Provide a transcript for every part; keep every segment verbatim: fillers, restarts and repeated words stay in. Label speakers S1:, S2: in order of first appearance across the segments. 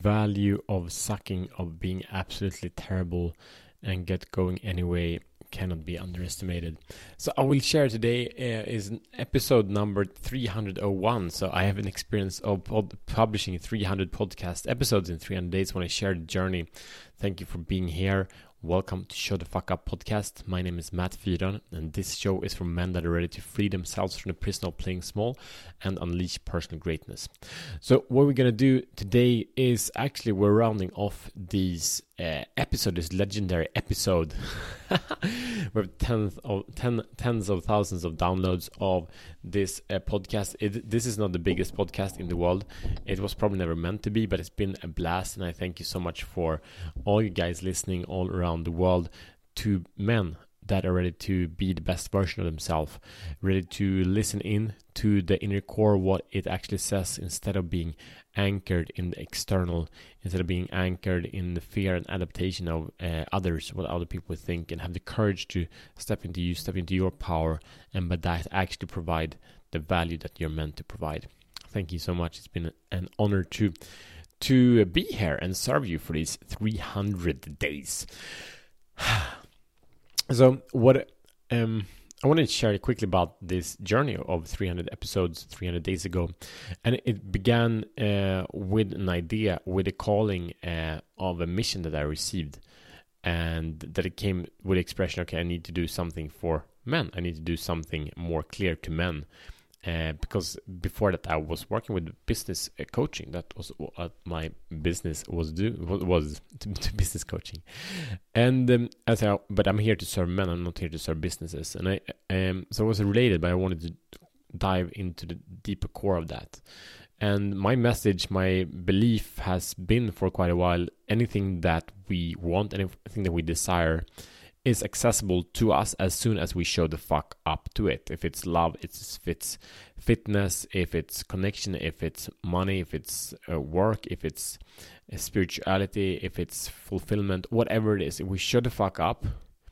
S1: value of sucking, of being absolutely terrible and get going anyway, cannot be underestimated. So I will share today uh, is episode number three hundred one. So I have an experience of pod- publishing three hundred podcast episodes in three hundred days when I shared the journey. Thank you for being here. Welcome to Show the Fuck Up podcast. My name is Matt Fyron, and this show is for men that are ready to free themselves from the prison of playing small and unleash personal greatness. So what we're going to do today is actually we're rounding off this uh, episode, this legendary episode. We have tens of, ten, tens of thousands of downloads of this uh, podcast. It, this is not the biggest podcast in the world. It was probably never meant to be, but it's been a blast, and I thank you so much for all you guys listening all around the world, to men that are ready to be the best version of themselves, ready to listen in to the inner core, what it actually says, instead of being anchored in the external, instead of being anchored in the fear and adaptation of uh, others, what other people think, and have the courage to step into you, step into your power, and by that actually provide the value that you're meant to provide. Thank you so much. It's been an honor to to be here and serve you for these three hundred days. So what um I wanted to share quickly about this journey of three hundred episodes three hundred days ago, and it began uh, with an idea, with a calling uh, of a mission that I received, and that it came with the expression, okay, I need to do something for men. I need to do something more clear to men. Uh, because before that I was working with business uh, coaching. That was what my business was do was, was to, to business coaching, and um, as I, but I'm here to serve men. I'm not here to serve businesses, and I um so it was related, but I wanted to dive into the deeper core of that. And my message, my belief has been for quite a while: anything that we want, anything that we desire, is accessible to us as soon as we show the fuck up to it. If it's love, it's, if it's fitness, if it's connection, if it's money, if it's uh, work, if it's uh, spirituality, if it's fulfillment, whatever it is, if we show the fuck up,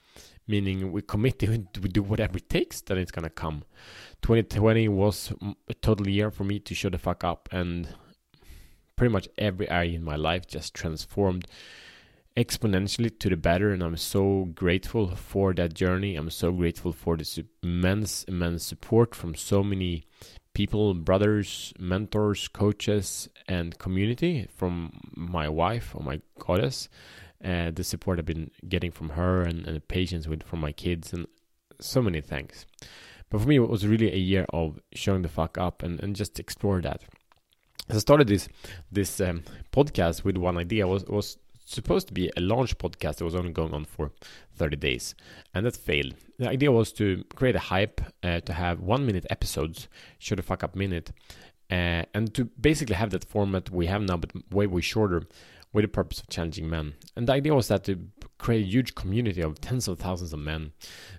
S1: meaning we commit to it, we do whatever it takes, then it's gonna come. twenty twenty was a total year for me to show the fuck up, and pretty much every area in my life just transformed exponentially to the better, and I'm so grateful for that journey. I'm so grateful for this immense, immense support from so many people, brothers, mentors, coaches, and community, from my wife, or my goddess, uh, the support I've been getting from her, and, and the patience with from my kids, and so many thanks. But for me, it was really a year of showing the fuck up and, and just explore that. So I started this this um, podcast with one idea. was was supposed to be a launch podcast that was only going on for thirty days, and that failed. The idea was to create a hype, uh, to have one minute episodes, show the fuck up minute, uh, and to basically have that format we have now, but way, way shorter, with the purpose of challenging men. And the idea was that to create a huge community of tens of thousands of men,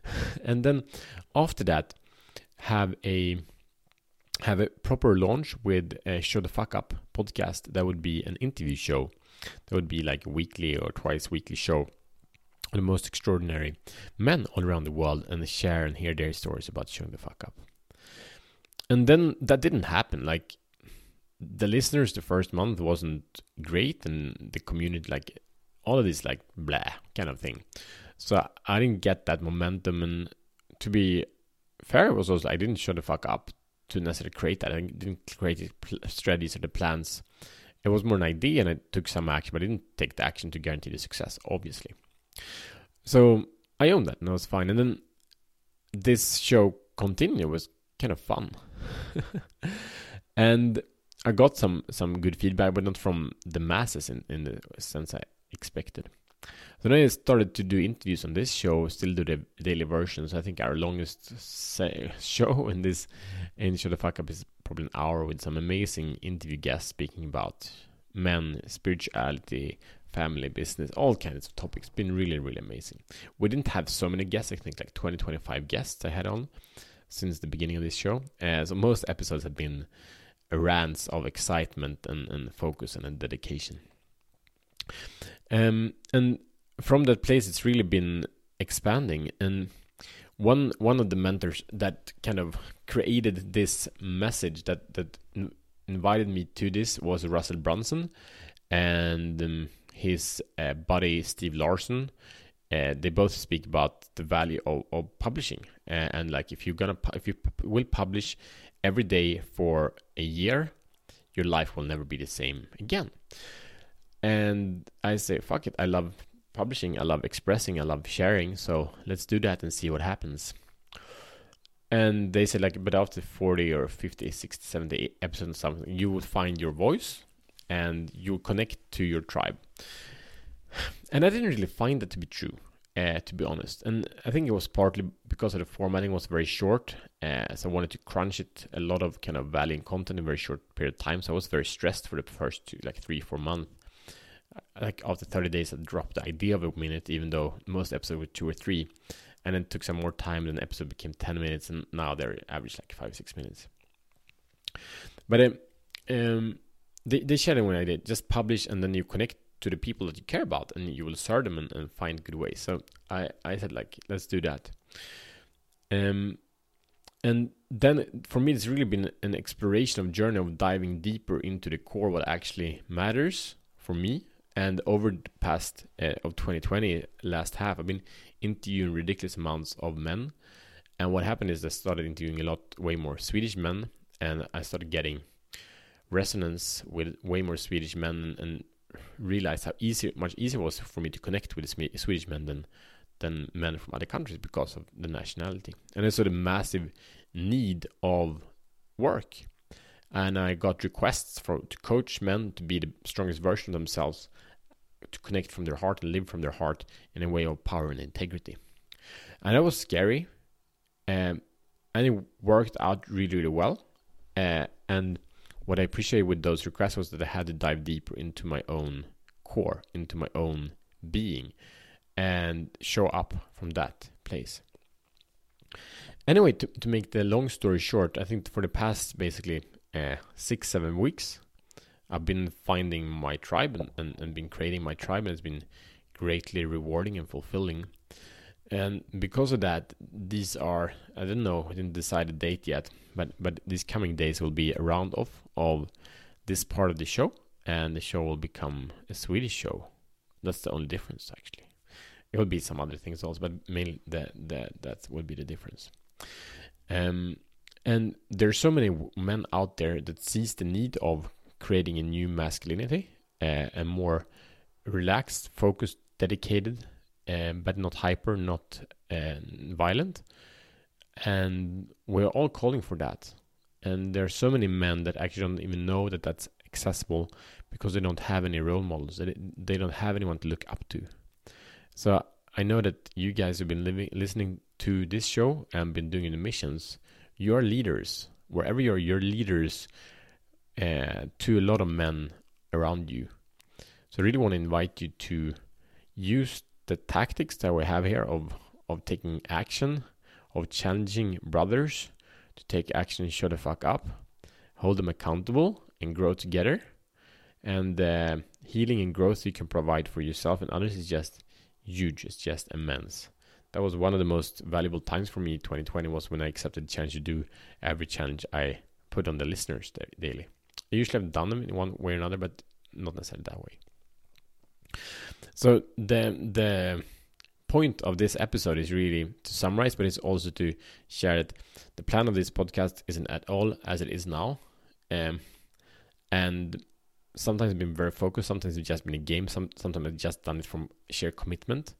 S1: and then after that, have a have a proper launch with a Show the Fuck Up podcast. That would be an interview show. That would be like a weekly or twice weekly show of the most extraordinary men all around the world, and share and hear their stories about showing the fuck up. And then that didn't happen. Like, the listeners the first month wasn't great, and the community, like, all of this like blah kind of thing. So I didn't get that momentum, and to be fair, it was also I didn't show the fuck up to necessarily create that. I didn't create the pl- strategies or the plans. It was more an idea, and I took some action, but I didn't take the action to guarantee the success, obviously. So I owned that, and that was fine. And then this show continued. It was kind of fun. And I got some, some good feedback, but not from the masses in, in the sense I expected. So then I started to do interviews on this show, still do the daily versions. I think our longest say, show in this in Show the Fuck Up is probably an hour, with some amazing interview guests speaking about men, spirituality, family, business, all kinds of topics. It's been really, really amazing. We didn't have so many guests. I think like twenty, twenty-five guests I had on since the beginning of this show. Uh, so most episodes have been rants of excitement and, and focus and dedication. Um, and from that place, it's really been expanding. And one one of the mentors that kind of created this message, that that invited me to this, was Russell Brunson. and um, his uh, buddy Steve Larsen. Uh, they both speak about the value of, of publishing, uh, and like if you're gonna pu- if you pu- will publish every day for a year, your life will never be the same again. And I say, fuck it, I love publishing, I love expressing, I love sharing, so let's do that and see what happens. And they said like, but after forty or fifty, sixty, seventy episodes or something, you will find your voice and you'll connect to your tribe. And I didn't really find that to be true, uh, to be honest. And I think it was partly because of the formatting was very short. Uh, so I wanted to crunch it, a lot of kind of value and content in a very short period of time. So I was very stressed for the first two, like three, four months. Like after thirty days, I dropped the idea of a minute, even though most episodes were two or three. And then it took some more time, then the episode became ten minutes, and now they're average like five, six minutes. But um, um, they, they shared it when I did, just publish and then you connect to the people that you care about and you will serve them and, and find good ways. So I, I said like, let's do that. Um, and then for me, it's really been an exploration of journey of diving deeper into the core, what actually matters for me. And over the past uh, of twenty twenty, last half, I've been interviewing ridiculous amounts of men. And what happened is I started interviewing a lot, way more Swedish men. And I started getting resonance with way more Swedish men and realized how easy, much easier it was for me to connect with the Swedish men than than men from other countries because of the nationality. And also the massive need of work. And I got requests for to coach men to be the strongest version of themselves, to connect from their heart and live from their heart in a way of power and integrity. And that was scary. Um, and it worked out really, really well. Uh, and what I appreciate with those requests was that I had to dive deeper into my own core, into my own being, and show up from that place. Anyway, to, to make the long story short, I think for the past basically uh, six, seven weeks, I've been finding my tribe and, and, and been creating my tribe, and it's been greatly rewarding and fulfilling. And because of that, these are, I don't know, I didn't decide a date yet, but but these coming days will be a round off of this part of the show, and the show will become a Swedish show. That's the only difference, actually. It will be some other things also, but mainly that that that would be the difference. Um, and there's so many men out there that sees the need of creating a new masculinity, uh, a more relaxed, focused, dedicated, Um, but not hyper, not uh, violent. And we're all calling for that. And there are so many men that actually don't even know that that's accessible because they don't have any role models. They, they don't have anyone to look up to. So I know that you guys have been living, listening to this show and been doing the missions. You're leaders. Wherever you're, you're leaders uh, to a lot of men around you. So I really want to invite you to use the tactics that we have here of of taking action, of challenging brothers to take action and shut the fuck up, hold them accountable and grow together. And uh, healing and growth you can provide for yourself and others is just huge. It's just immense. That was one of the most valuable times for me. twenty twenty was when I accepted the challenge to do every challenge I put on the listeners daily. I usually have done them in one way or another, but not necessarily that way. So the the point of this episode is really to summarize, but it's also to share that the plan of this podcast isn't at all as it is now. Um, and sometimes it's been very focused, sometimes it's just been a game, some, sometimes I've just done it from sheer commitment.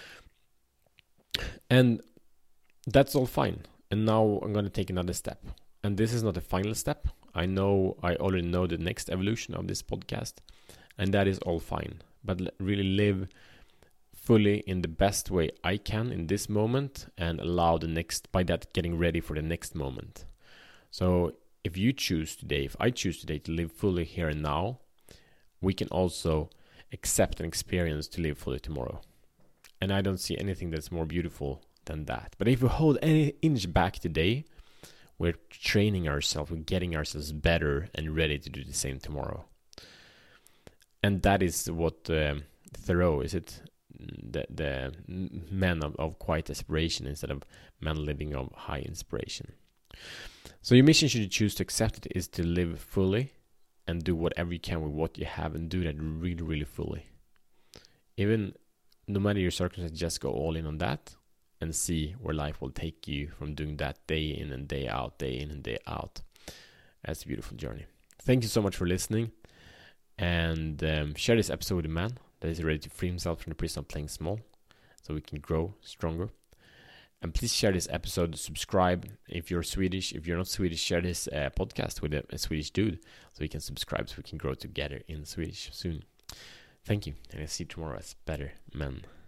S1: And that's all fine. And now I'm going to take another step. And this is not the final step. I know, I already know the next evolution of this podcast, and that is all fine. But really live fully in the best way I can in this moment and allow the next, by that getting ready for the next moment. So if you choose today, if I choose today to live fully here and now, we can also accept and experience to live fully tomorrow. And I don't see anything that's more beautiful than that. But if we hold any inch back today, we're training ourselves, we're getting ourselves better and ready to do the same tomorrow. And that is what um, Thoreau, is it? The, the men of, of quiet aspiration instead of men living of high inspiration. So your mission, should you choose to accept it, is to live fully and do whatever you can with what you have, and do that really, really fully. Even no matter your circumstances, just go all in on that and see where life will take you from doing that day in and day out, day in and day out. That's a beautiful journey. Thank you so much for listening, and um, share this episode with a man that is ready to free himself from the prison of playing small, so we can grow stronger. And please share this episode, subscribe if you're Swedish. If you're not Swedish, share this uh, podcast with a, a Swedish dude so we can subscribe, so we can grow together in Swedish soon. Thank you, and I'll see you tomorrow as better men.